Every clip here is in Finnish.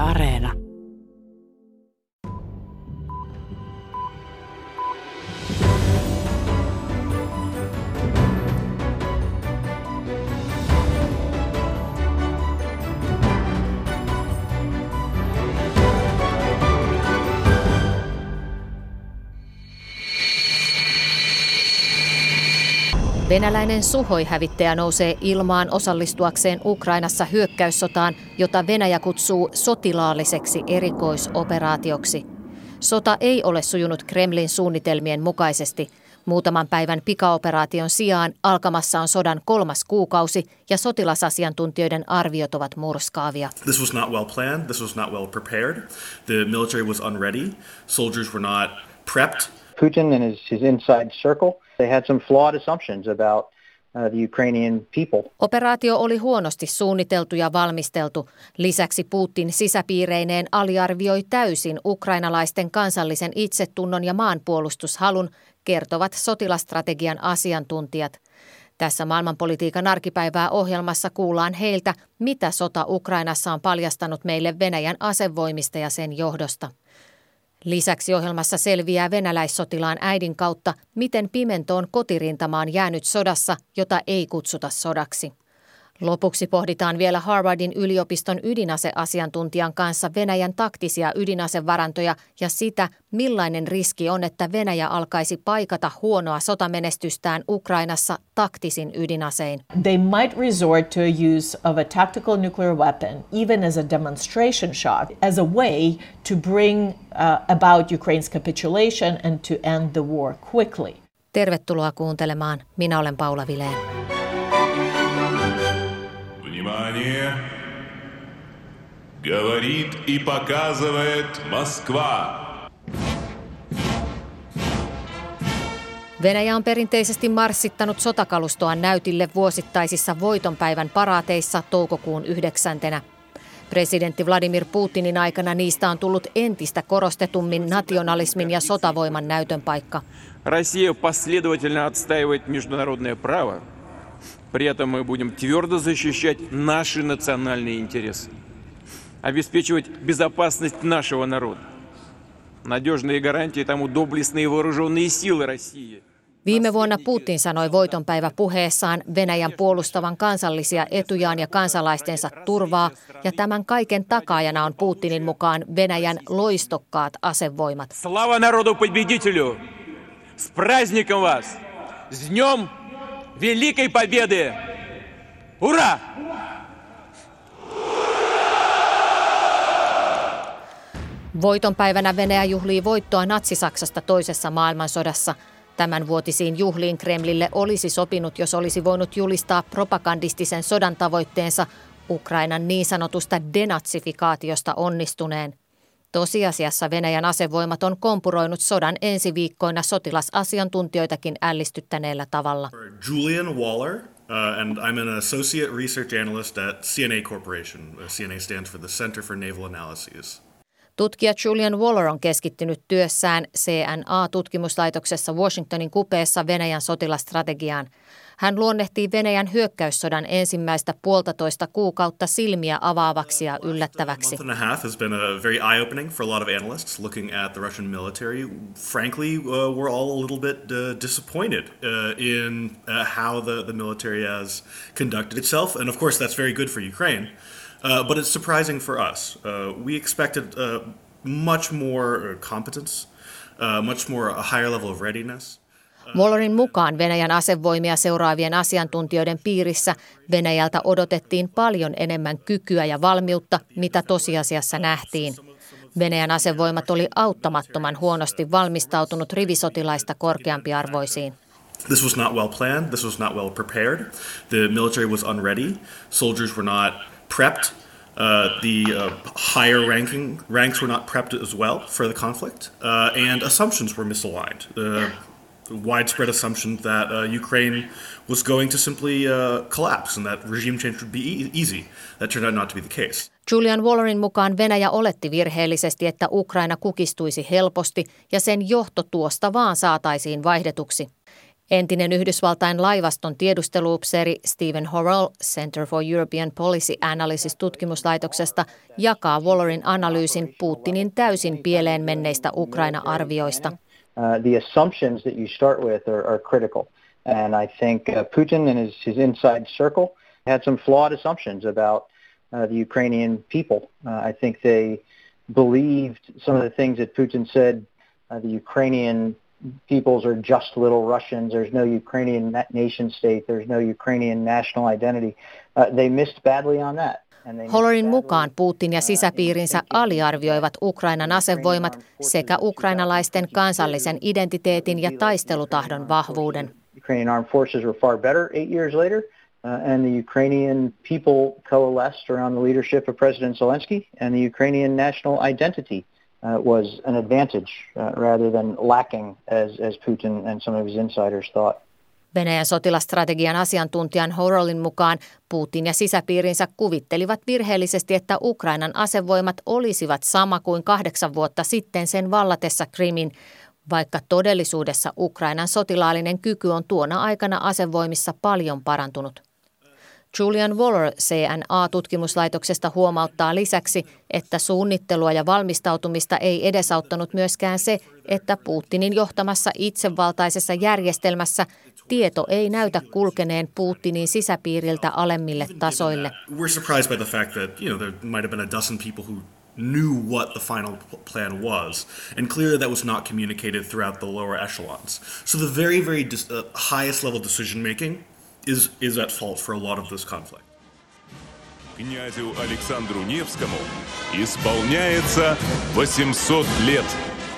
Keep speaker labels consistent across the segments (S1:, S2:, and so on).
S1: Areena.
S2: Venäläinen Suhoi-hävittäjä nousee ilmaan osallistuakseen Ukrainassa hyökkäyssotaan, jota Venäjä kutsuu sotilaalliseksi erikoisoperaatioksi. Sota ei ole sujunut Kremlin suunnitelmien mukaisesti. Muutaman päivän pikaoperaation sijaan alkamassa on sodan 3. kuukausi ja sotilasasiantuntijoiden arviot ovat murskaavia.
S3: This was not well planned. This was not well prepared. The military was unready. Soldiers were not prepped.
S4: Putin and his inside circle, they had some flawed assumptions about the Ukrainian people.
S2: Operaatio oli huonosti suunniteltu ja valmisteltu. Lisäksi Putin sisäpiireineen aliarvioi täysin ukrainalaisten kansallisen itsetunnon ja maanpuolustushalun, kertovat sotilastrategian asiantuntijat. Tässä maailmanpolitiikan arkipäivää ohjelmassa kuullaan heiltä, mitä sota Ukrainassa on paljastanut meille Venäjän asevoimista ja sen johdosta. Lisäksi ohjelmassa selviää venäläissotilaan äidin kautta, miten pimentoon kotirintama on jäänyt sodassa, jota ei kutsuta sodaksi. Lopuksi pohditaan vielä Harvardin yliopiston ydinaseasiantuntijan kanssa Venäjän taktisia ydinasevarantoja ja sitä, millainen riski on, että Venäjä alkaisi paikata huonoa sotamenestystään Ukrainassa taktisin ydinasein.
S5: They might resort to a use of a tactical nuclear weapon, even as a demonstration shot, as a way to bring about Ukraine's capitulation and to end the war quickly.
S2: Tervetuloa kuuntelemaan. Minä olen Paula Vileen.
S6: Внимание! Говорит и показывает Москва.
S2: Venäjä on perinteisesti marssittanut sotakalustoaan näytille vuosittaisissa voitonpäivän paraateissa toukokuun 9. Presidentti Vladimir Putinin aikana niistä on tullut entistä korostetummin nationalismin ja sotavoiman näytön paikka.
S7: Россия последовательно отстаивает международное право. При этом мы будем твердо защищать наши национальные интересы, обеспечивать безопасность нашего народа. Надежные гарантии тому доблестные вооруженные силы России.
S2: Viime vuonna Putin sanoi voitonpäivä puheessaan Venäjän puolustavan kansallisia etujaan ja kansalaistensa turvaa, ja tämän kaiken takaajana on Putinin mukaan Venäjän loistokkaat asevoimat.
S7: Слава народу победителю! С праздником вас! С днем Великой Победы! Ура!
S2: Voitonpäivänä Venäjä juhlii voittoa Natsi-Saksasta toisessa maailmansodassa. Tämän vuotisiin juhliin Kremlille olisi sopinut, jos olisi voinut julistaa propagandistisen sodan tavoitteensa Ukrainan niin sanotusta denatsifikaatiosta onnistuneen. Tosiasiassa Venäjän asevoimat on kompuroinut sodan ensi viikkoina sotilasasiantuntijoitakin ällistyttäneellä tavalla.
S3: Julian Waller, and I'm an associate research analyst at CNA Corporation. CNA stands for the Center for Naval Analyses.
S2: Tutkija Julian Waller on keskittynyt työssään CNA-tutkimuslaitoksessa Washingtonin kupeessa Venäjän sotilastrategiaan. Hän luonnehtii Venäjän hyökkäyssodan ensimmäistä 1,5 kuukautta silmiä avaavaksi ja yllättäväksi.
S3: A month and a half has been very eye-opening for a lot of analysts looking at the Russian military. Frankly, we're all a little bit disappointed in how the military has conducted itself. And of course that's very good for Ukraine. But it's surprising for us. We expected much more competence, much more a higher level of readiness.
S2: Wallerin mukaan Venäjän asevoimia seuraavien asiantuntijoiden piirissä Venäjältä odotettiin paljon enemmän kykyä ja valmiutta, mitä tosiasiassa nähtiin. Venäjän asevoimat oli auttamattoman huonosti valmistautunut rivisotilaista korkeampiarvoisiin.
S3: This was not well planned. This was not well prepared. The military was unready. Soldiers were not prepped. The higher ranks were not prepped as well for the conflict, and assumptions were misaligned. Widespread assumption that Ukraine was going to simply collapse and that regime change would be easy. That turned out not to be the case.
S2: Julian Wallerin mukaan Venäjä oletti virheellisesti, että Ukraina kukistuisi helposti ja sen johto tuosta vaan saataisiin vaihdetuksi. Entinen Yhdysvaltain laivaston tiedusteluupseeri Stephen Horrell Center for European Policy Analysis -tutkimuslaitoksesta jakaa Wallerin analyysin Putinin täysin pieleen menneistä Ukraina-arvioista.
S4: The assumptions that you start with are critical. And I think Putin and his inside circle had some flawed assumptions about the Ukrainian people. I think they believed some of the things that Putin said, the Ukrainian peoples are just little Russians, there's no Ukrainian nation state, there's no Ukrainian national identity. They missed badly on that.
S2: Hollerin mukaan Putin ja sisäpiirinsä aliarvioivat Ukrainan asevoimat sekä ukrainalaisten kansallisen identiteetin ja taistelutahdon vahvuuden.
S4: Ukrainian armed forces were far better 8 years later, and the Ukrainian people coalesced around the leadership of President Zelensky, and the Ukrainian national identity was an advantage rather than lacking, as Putin and some of his insiders thought.
S2: Venäjän sotilastrategian asiantuntijan Horrellin mukaan Putin ja sisäpiirinsä kuvittelivat virheellisesti, että Ukrainan asevoimat olisivat sama kuin 8 vuotta sitten sen vallatessa Krimin, vaikka todellisuudessa Ukrainan sotilaallinen kyky on tuona aikana asevoimissa paljon parantunut. Julian Waller CNA-tutkimuslaitoksesta huomauttaa lisäksi, että suunnittelua ja valmistautumista ei edesauttanut myöskään se, että Putinin johtamassa itsevaltaisessa järjestelmässä tieto ei näytä kulkeneen Putinin sisäpiiriltä alemmille tasoille.
S3: We're surprised by the fact that, there might have been a dozen people who knew what the final plan was, and clearly that was not communicated throughout the lower echelons. So the very, very highest level decision making is at fault for a lot of this conflict.
S6: Князю Александру Невскому исполняется 800 лет.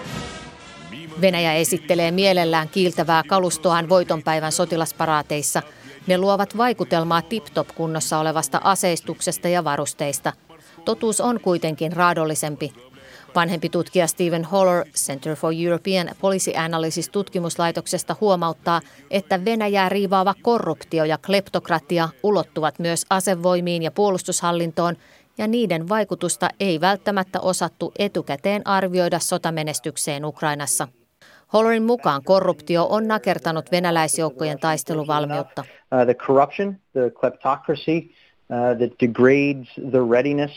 S2: Venäjä esittelee mielellään kiiltävää kalustoaan voitonpäivän sotilasparaateissa. Ne luovat vaikutelmaa tip-top kunnossa olevasta aseistuksesta ja varusteista. Totuus on kuitenkin raadollisempi. Vanhempi tutkija Stephen Holler Center for European Policy Analysis -tutkimuslaitoksesta huomauttaa, että Venäjää riivaava korruptio ja kleptokratia ulottuvat myös asevoimiin ja puolustushallintoon, ja niiden vaikutusta ei välttämättä osattu etukäteen arvioida sotamenestykseen Ukrainassa. Hollerin mukaan korruptio on nakertanut venäläisjoukkojen taisteluvalmiutta.
S4: The corruption, the kleptocracy that degrades the readiness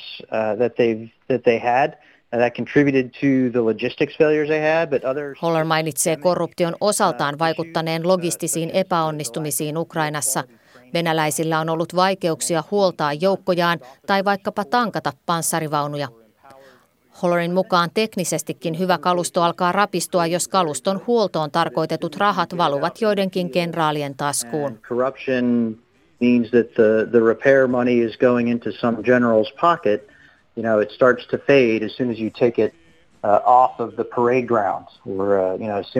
S4: that they had. That contributed to the logistics failures they had, but others...
S2: Holler mainitsee korruption osaltaan vaikuttaneen logistisiin epäonnistumisiin Ukrainassa. Venäläisillä on ollut vaikeuksia huoltaa joukkojaan tai vaikkapa tankata panssarivaunuja. Hollerin mukaan teknisestikin hyvä kalusto alkaa rapistua, jos kaluston huoltoon tarkoitetut rahat valuvat joidenkin kenraalien taskuun.
S4: Corruption means that the repair money is going into some general's pocket. It starts to fade as soon as you take it off of the parade grounds, or as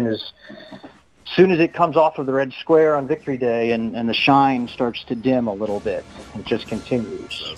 S4: soon as it comes off of the Red Square on Victory Day, and the shine starts to dim a little bit. It just continues.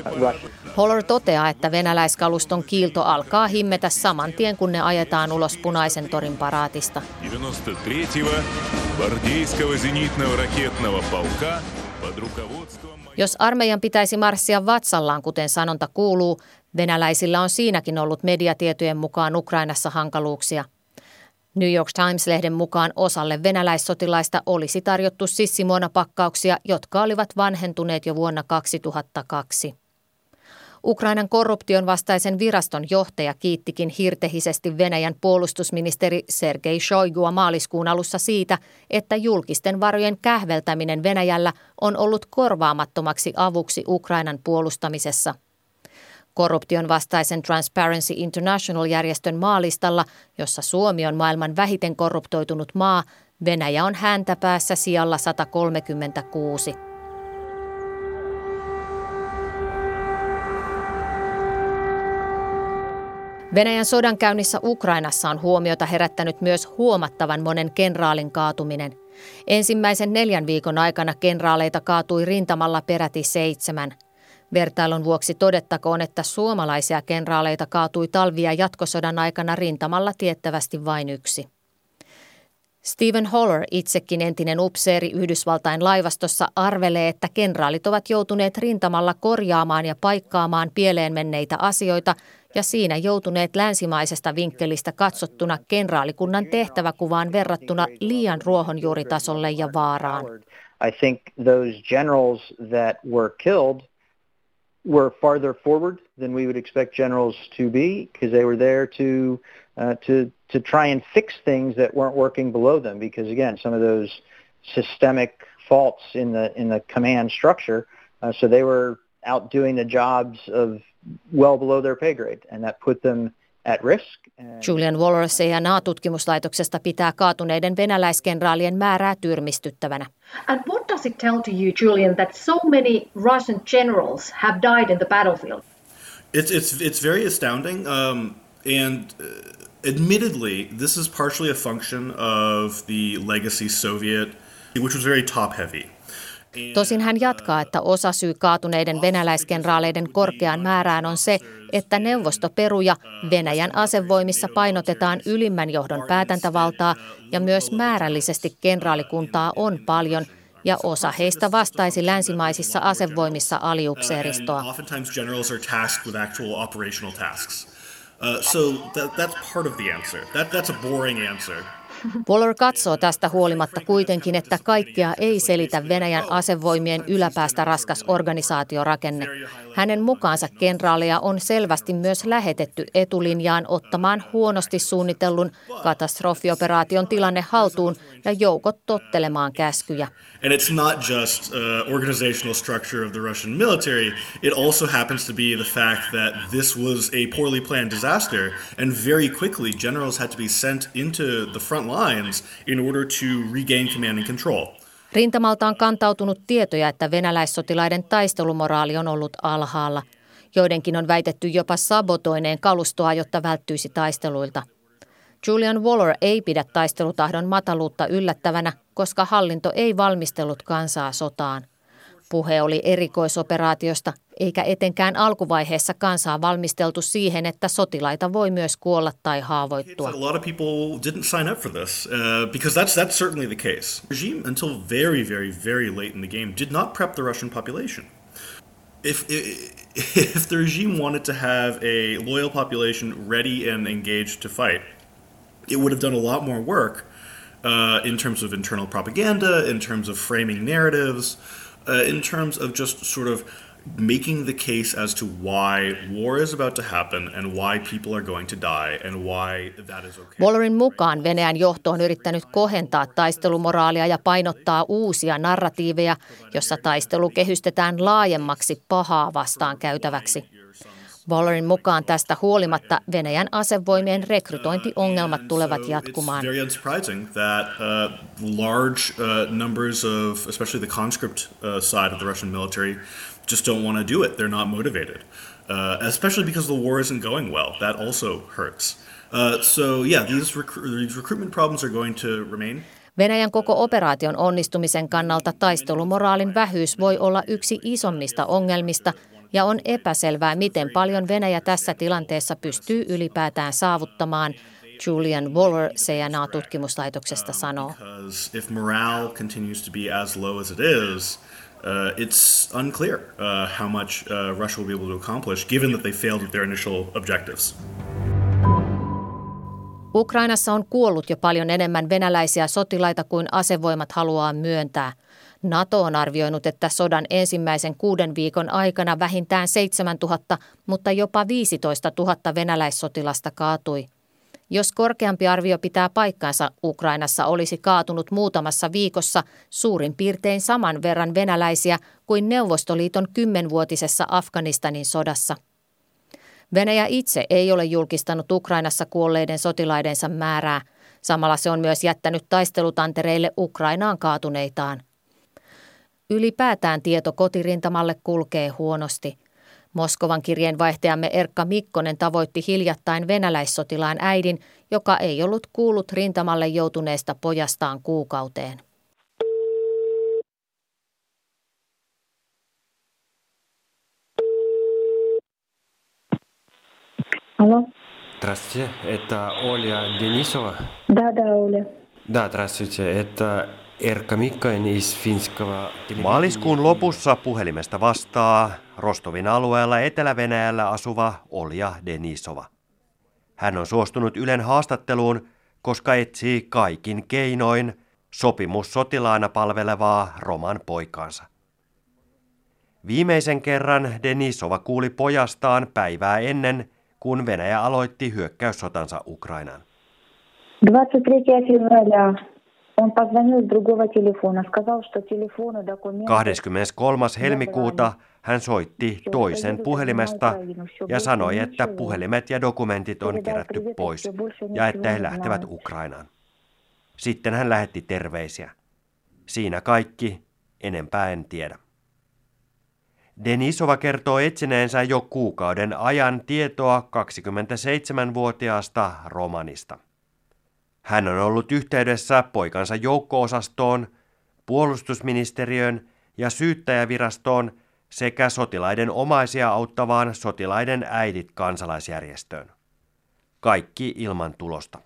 S2: Holler toteaa, että venäläiskaluston kiilto alkaa himmetä saman tien, kun ne ajetaan ulos Punaisen torin paraatista.
S6: 93-го гвардейского зенитного ракетного полка под руководством...
S2: Jos armeijan pitäisi marssia vatsallaan, kuten sanonta kuuluu, venäläisillä on siinäkin ollut mediatietojen mukaan Ukrainassa hankaluuksia. New York Times-lehden mukaan osalle venäläissotilaista olisi tarjottu sissimuonapakkauksia, jotka olivat vanhentuneet jo vuonna 2002. Ukrainan korruption vastaisen viraston johtaja kiittikin hirtehisesti Venäjän puolustusministeri Sergei Shoigua maaliskuun alussa siitä, että julkisten varojen kähveltäminen Venäjällä on ollut korvaamattomaksi avuksi Ukrainan puolustamisessa. Korruption vastaisen Transparency International-järjestön maalistalla, jossa Suomi on maailman vähiten korruptoitunut maa, Venäjä on häntäpäässä sijalla 136. Venäjän sodankäynnissä Ukrainassa on huomiota herättänyt myös huomattavan monen kenraalin kaatuminen. Ensimmäisen 4 viikon aikana kenraaleita kaatui rintamalla peräti 7. Vertailun vuoksi todettakoon, että suomalaisia kenraaleita kaatui talvi- ja jatkosodan aikana rintamalla tiettävästi vain 1. Stephen Holler, itsekin entinen upseeri Yhdysvaltain laivastossa, arvelee, että kenraalit ovat joutuneet rintamalla korjaamaan ja paikkaamaan pieleen menneitä asioita, ja siinä joutuneet länsimaisesta vinkkelistä katsottuna kenraalikunnan tehtäväkuvaan verrattuna liian ruohonjuuritasolle ja vaaraan.
S4: I think those generals that were killed were farther forward than we would expect generals to be, because they were there to try and fix things that weren't working below them. Because again, some of those systemic faults in the command structure, so they were out doing the jobs of well below their pay grade, and that put them at risk.
S2: Julian Waller CNA-tutkimuslaitoksesta pitää kaatuneiden venäläiskenraalien määrää tyrmistyttävänä.
S1: And what does it tell to you, Julian, that so many Russian generals have died in the battlefield?
S3: It's very astounding, and admittedly, this is partially a function of the legacy Soviet, which was very top-heavy.
S2: Tosin hän jatkaa, että osasyy kaatuneiden venäläiskenraaleiden korkeaan määrään on se, että Neuvostoperu ja Venäjän asevoimissa painotetaan ylimmän johdon päätäntävaltaa ja myös määrällisesti kenraalikuntaa on paljon ja osa heistä vastaisi länsimaisissa asevoimissa aliupseeristoa.
S3: Oftentimes generals are tasked with actual operational tasks. So that's part of the answer. That's a boring answer.
S2: Waller katsoo tästä huolimatta kuitenkin, että kaikkea ei selitä Venäjän asevoimien yläpäästä raskas organisaatiorakenne. Hänen mukaansa kenraaleja on selvästi myös lähetetty etulinjaan ottamaan huonosti suunnitellun katastrofioperaation tilanne haltuun ja joukot tottelemaan käskyjä.
S3: And it's not just organizational structure of the Russian military. It also happens to be the fact that this was a poorly planned disaster, and very quickly generals had to be sent into the front lines in order to regain command and control.
S2: Rintamalta on kantautunut tietoja, että venäläissotilaiden taistelumoraali on ollut alhaalla. Joidenkin on väitetty jopa sabotoineen kalustoa, jotta välttyisi taisteluilta. Julian Waller ei pidä taistelutahdon mataluutta yllättävänä, koska hallinto ei valmistellut kansaa sotaan. Puhe oli erikoisoperaatiosta, eikä etenkään alkuvaiheessa kansaa valmisteltu siihen, että sotilaita voi myös kuolla tai haavoittua.
S3: A lot of people didn't sign up for this because that's certainly the case. The regime, until very late in the game, did not prep the Russian population. If the regime wanted to have a loyal population ready and engaged to fight, it would have done a lot more work in terms of internal propaganda, in terms of framing narratives, in terms of just sort of making the case as to why war is about to happen and why people are going to die and why that is okay.
S2: Wallerin mukaan Venäjän johto on yrittänyt kohentaa taistelumoraalia ja painottaa uusia narratiiveja, jossa taistelu kehystetään laajemmaksi pahaa vastaan käytäväksi. Wallerin mukaan tästä huolimatta Venäjän asevoimien rekrytointiongelmat tulevat jatkumaan.
S3: It's very unsurprising that large numbers of, especially the conscript side of the Russian military, just don't want to do it. They're not motivated, especially because the war isn't going well. That also hurts. So yeah, these recruitment problems are going to remain.
S2: Venäjän koko operaation onnistumisen kannalta taistelumoraalin vähyys voi olla yksi isommista ongelmista, ja on epäselvää, miten paljon Venäjä tässä tilanteessa pystyy ylipäätään saavuttamaan, Julian Waller CNA-tutkimuslaitoksesta sanoo.
S3: If morale continues to be as low as it is, it's unclear how much Russia will be able to accomplish, given that they failed with their initial objectives.
S2: Ukrainassa on kuollut jo paljon enemmän venäläisiä sotilaita kuin asevoimat haluaa myöntää. NATO on arvioinut, että sodan ensimmäisen 6 viikon aikana vähintään 7 000, mutta jopa 15 000 venäläissotilasta kaatui. Jos korkeampi arvio pitää paikkansa, Ukrainassa olisi kaatunut muutamassa viikossa suurin piirtein saman verran venäläisiä kuin Neuvostoliiton 10-vuotisessa Afganistanin sodassa. Venäjä itse ei ole julkistanut Ukrainassa kuolleiden sotilaidensa määrää. Samalla se on myös jättänyt taistelutantereille Ukrainaan kaatuneitaan. Ylipäätään tieto kotirintamalle kulkee huonosti. Moskovan kirjeenvaihtajamme Erkka Mikkonen tavoitti hiljattain venäläissotilaan äidin, joka ei ollut kuullut rintamalle joutuneesta pojastaan kuukauteen.
S8: Алло.
S9: Здравствуйте, это Оля Денисова?
S8: Да, Оля.
S9: Да, здравствуйте, это Erkka Mikkonen из финского...
S10: Maaliskuun lopussa puhelimesta vastaa Rostovin alueella Etelä-Venäjällä asuva Olja Denisova. Hän on suostunut Ylen haastatteluun, koska etsii kaikin keinoin sopimussotilaana palvelevaa Roman poikaansa. Viimeisen kerran Denisova kuuli pojastaan päivää ennen, kun Venäjä aloitti hyökkäyssotansa Ukrainaan. 23. helmikuuta hän soitti toisen puhelimesta ja sanoi, että puhelimet ja dokumentit on kerätty pois ja että he lähtevät Ukrainaan. Sitten hän lähetti terveisiä. Siinä kaikki, enempää en tiedä. Denisova kertoo etsineensä jo kuukauden ajan tietoa 27-vuotiaasta Romanista. Hän on ollut yhteydessä poikansa joukko-osastoon, puolustusministeriöön ja syyttäjävirastoon sekä sotilaiden omaisia auttavaan Sotilaiden äidit -kansalaisjärjestöön. Kaikki ilman tulosta.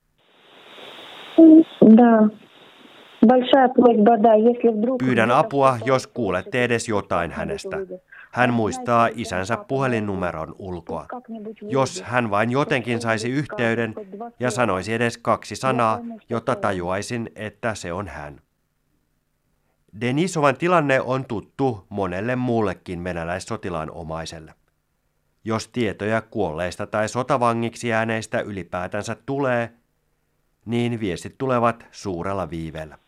S10: Pyydän apua, jos kuulette edes jotain hänestä. Hän muistaa isänsä puhelinnumeron ulkoa. Jos hän vain jotenkin saisi yhteyden ja sanoisi edes 2 sanaa, jotta tajuaisin, että se on hän. Denisovan tilanne on tuttu monelle muullekin venäläissotilaan omaiselle. Jos tietoja kuolleista tai sotavangiksi jääneistä ylipäätänsä tulee, niin viestit tulevat suurella viiveellä.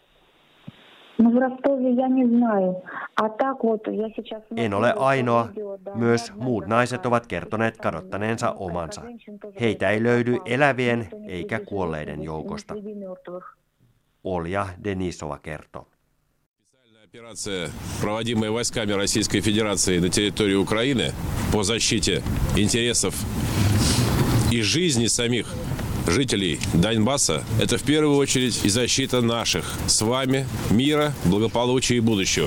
S10: En ole ainoa, myös muut naiset ovat kertoneet kadottaneensa omansa. Heitä ei löydy elävien eikä kuolleiden joukosta. Olja Denisova kertoo.
S11: Операция, проводимая войсками Российской Федерации на территории Украины по защите интересов и жизни самих жителей Донбасса, это в первую очередь и защита наших с вами мира, благополучия и будущего.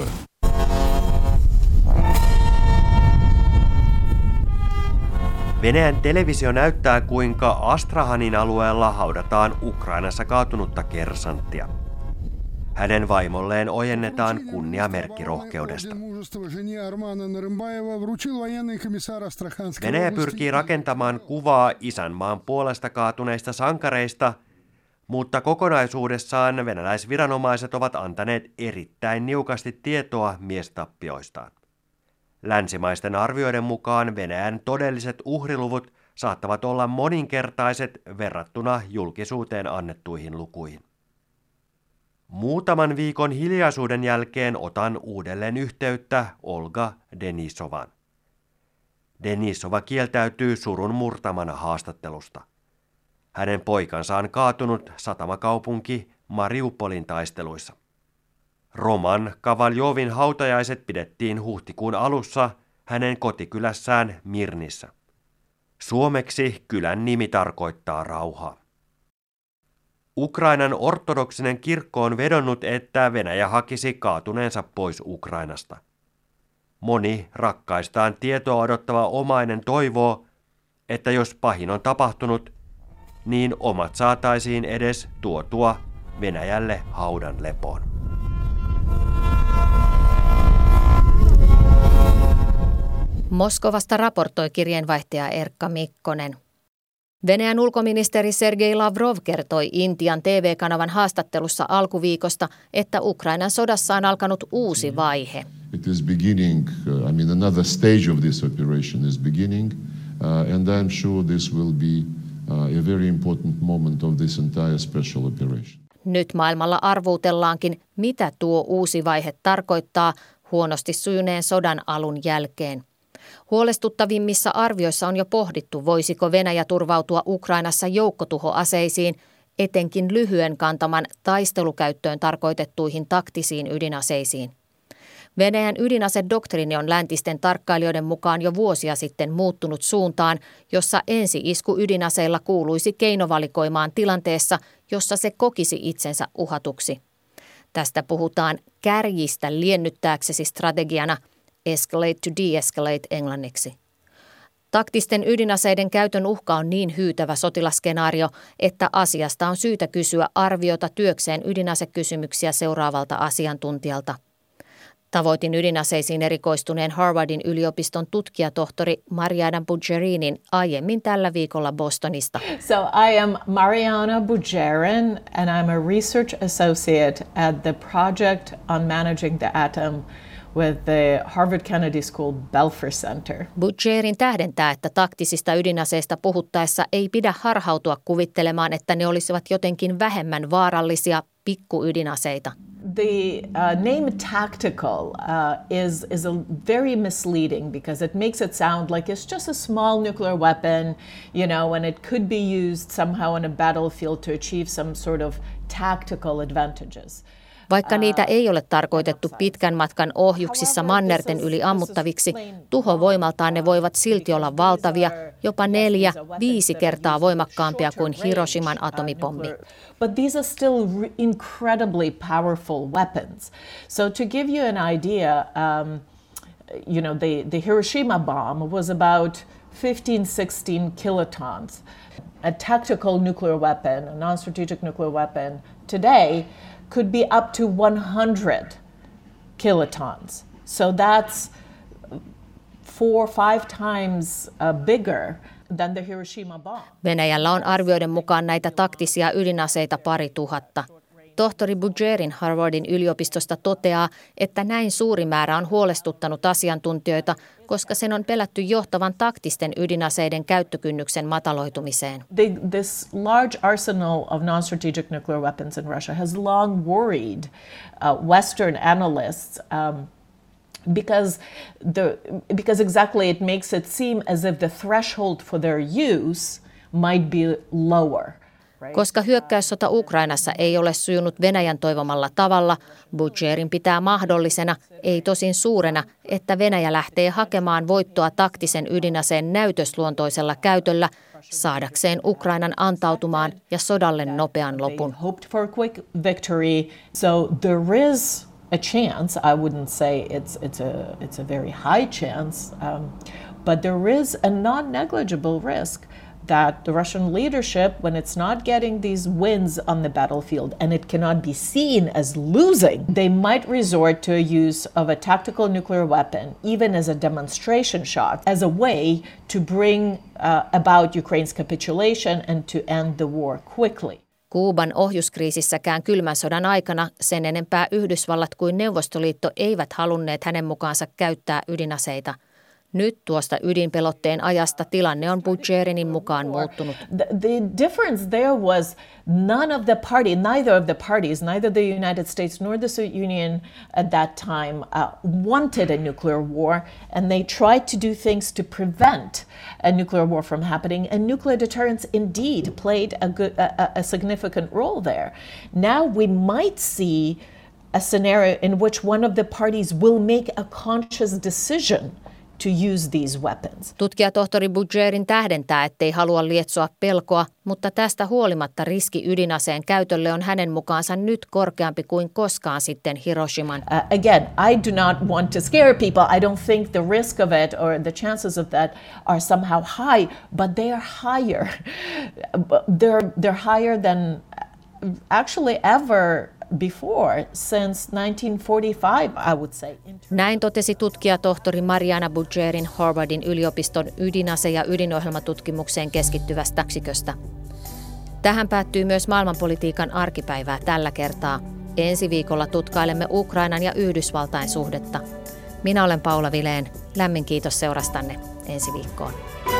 S10: Venäjän televisio näyttää, kuinka Astrahanin alueella haudataan Ukrainassa kaatunutta kersanttia. Hänen vaimolleen ojennetaan kunniamerkki rohkeudesta. Venäjä pyrkii rakentamaan kuvaa isänmaan puolesta kaatuneista sankareista, mutta kokonaisuudessaan venäläisviranomaiset ovat antaneet erittäin niukasti tietoa miestappioistaan. Länsimaisten arvioiden mukaan Venäjän todelliset uhriluvut saattavat olla moninkertaiset verrattuna julkisuuteen annettuihin lukuihin. Muutaman viikon hiljaisuuden jälkeen otan uudelleen yhteyttä Olga Denisovaan. Denisova kieltäytyy surun murtamana haastattelusta. Hänen poikansa on kaatunut satamakaupunki Mariupolin taisteluissa. Roman Kavaljovin hautajaiset pidettiin huhtikuun alussa hänen kotikylässään Mirnissä. Suomeksi kylän nimi tarkoittaa rauhaa. Ukrainan ortodoksinen kirkko on vedonnut, että Venäjä hakisi kaatuneensa pois Ukrainasta. Moni rakkaistaan tietoa odottava omainen toivoo, että jos pahin on tapahtunut, niin omat saataisiin edes tuotua Venäjälle haudan lepoon.
S2: Moskovasta raportoi kirjeenvaihtaja Erkka Mikkonen. Venäjän ulkoministeri Sergei Lavrov kertoi Intian TV-kanavan haastattelussa alkuviikosta, että Ukrainan sodassa on alkanut uusi vaihe.
S12: It is beginning, another stage of this operation is beginning, and I'm sure this will be a very important moment of this entire special operation.
S2: Nyt maailmalla arvuutellaankin, mitä tuo uusi vaihe tarkoittaa huonosti sujuneen sodan alun jälkeen. Huolestuttavimmissa arvioissa on jo pohdittu, voisiko Venäjä turvautua Ukrainassa joukkotuhoaseisiin, etenkin lyhyen kantaman taistelukäyttöön tarkoitettuihin taktisiin ydinaseisiin. Venäjän ydinasedoktriini on läntisten tarkkailijoiden mukaan jo vuosia sitten muuttunut suuntaan, jossa ensi-isku ydinaseilla kuuluisi keinovalikoimaan tilanteessa, jossa se kokisi itsensä uhatuksi. Tästä puhutaan kärjistä liennyttääksesi strategiana, escalate to de-escalate englanniksi. Taktisten ydinaseiden käytön uhka on niin hyytävä sotilaskenaario, että asiasta on syytä kysyä arviota työkseen ydinasekysymyksiä seuraavalta asiantuntijalta. Tavoitin ydinaseisiin erikoistuneen Harvardin yliopiston tutkijatohtori Mariana Budgerinin aiemmin tällä viikolla Bostonista.
S5: So I am Mariana Budgerin and I'm a research associate at the project on managing the atom with the Harvard Kennedy School Belfer Center.
S2: Budgerin tähdentää, että taktisista ydinaseista puhuttaessa ei pidä harhautua kuvittelemaan, että ne olisivat jotenkin vähemmän vaarallisia pikkuydinaseita.
S5: The name tactical is a very misleading because it makes it sound like it's just a small nuclear weapon, and it could be used somehow on a battlefield to achieve some sort of tactical advantages.
S2: Vaikka niitä ei ole tarkoitettu pitkän matkan ohjuksissa mannerten yli ammuttaviksi, tuhovoimaltaan ne voivat silti olla valtavia, jopa 4-5 kertaa voimakkaampia kuin Hiroshiman atomipommi.
S5: But these are still incredibly powerful weapons. So to give you an idea, the Hiroshima bomb was about 15-16 kilotons. A tactical nuclear weapon, a non-strategic nuclear weapon today could be up to 100 kilotons. So that's 4-5 times bigger than the Hiroshima bomb.
S2: Venäjällä on arvioiden mukaan näitä taktisia ydinaseita 2000. Tohtori Budgerin Harvardin yliopistosta toteaa, että näin suuri määrä on huolestuttanut asiantuntijoita, koska sen on pelätty johtavan taktisten ydinaseiden käyttökynnyksen mataloitumiseen.
S5: This large arsenal of non-strategic nuclear weapons in Russia has long worried Western analysts because exactly it makes it seem as if the threshold for their use might be lower.
S2: Koska hyökkäyssota Ukrainassa ei ole sujunut Venäjän toivomalla tavalla, Budgerin pitää mahdollisena, ei tosin suurena, että Venäjä lähtee hakemaan voittoa taktisen ydinaseen näytösluontoisella käytöllä saadakseen Ukrainan antautumaan ja sodalle nopean lopun.
S5: So there is a chance, I wouldn't say it's a very high chance, but there is a non-negligible risk that the Russian leadership, when it's not getting these wins on the battlefield and it cannot be seen as losing, they might resort to a use of a tactical nuclear weapon, even as a demonstration shot, as a way to bring about Ukraine's capitulation and to end the war quickly.
S2: Kuuban ohjuskriisissäkään kylmän sodan aikana sen enempää Yhdysvallat kuin Neuvostoliitto eivät halunneet hänen mukaansa käyttää ydinaseita. Nyt tuosta ydinpelotteen ajasta tilanne on Budgerinin mukaan muuttunut.
S5: The difference there was neither of the parties, neither the United States nor the Soviet Union at that time wanted a nuclear war, and they tried to do things to prevent a nuclear war from happening, and nuclear deterrence indeed played a significant role there. Now we might see a scenario in which one of the parties will make a conscious decision to use these weapons.
S2: Tutkijatohtori Budgerin tähdentää, ettei halua lietsoa pelkoa, mutta tästä huolimatta riski ydinaseen käytölle on hänen mukaansa nyt korkeampi kuin koskaan sitten Hiroshiman.
S5: Again, I do not want to scare people. I don't think the risk of it or the chances of that are somehow high, but they are higher. They're higher than actually ever before since 1945, I would say.
S2: Näin totesi tutkijatohtori Mariana Budgerin Harvardin yliopiston ydinase- ja ydinohjelmatutkimukseen keskittyvästä yksiköstä. Tähän päättyy myös maailmanpolitiikan arkipäivää tällä kertaa. Ensi viikolla tutkailemme Ukrainan ja Yhdysvaltain suhdetta. Minä olen Paula Vilén. Lämmin kiitos seurastanne. Ensi viikkoon.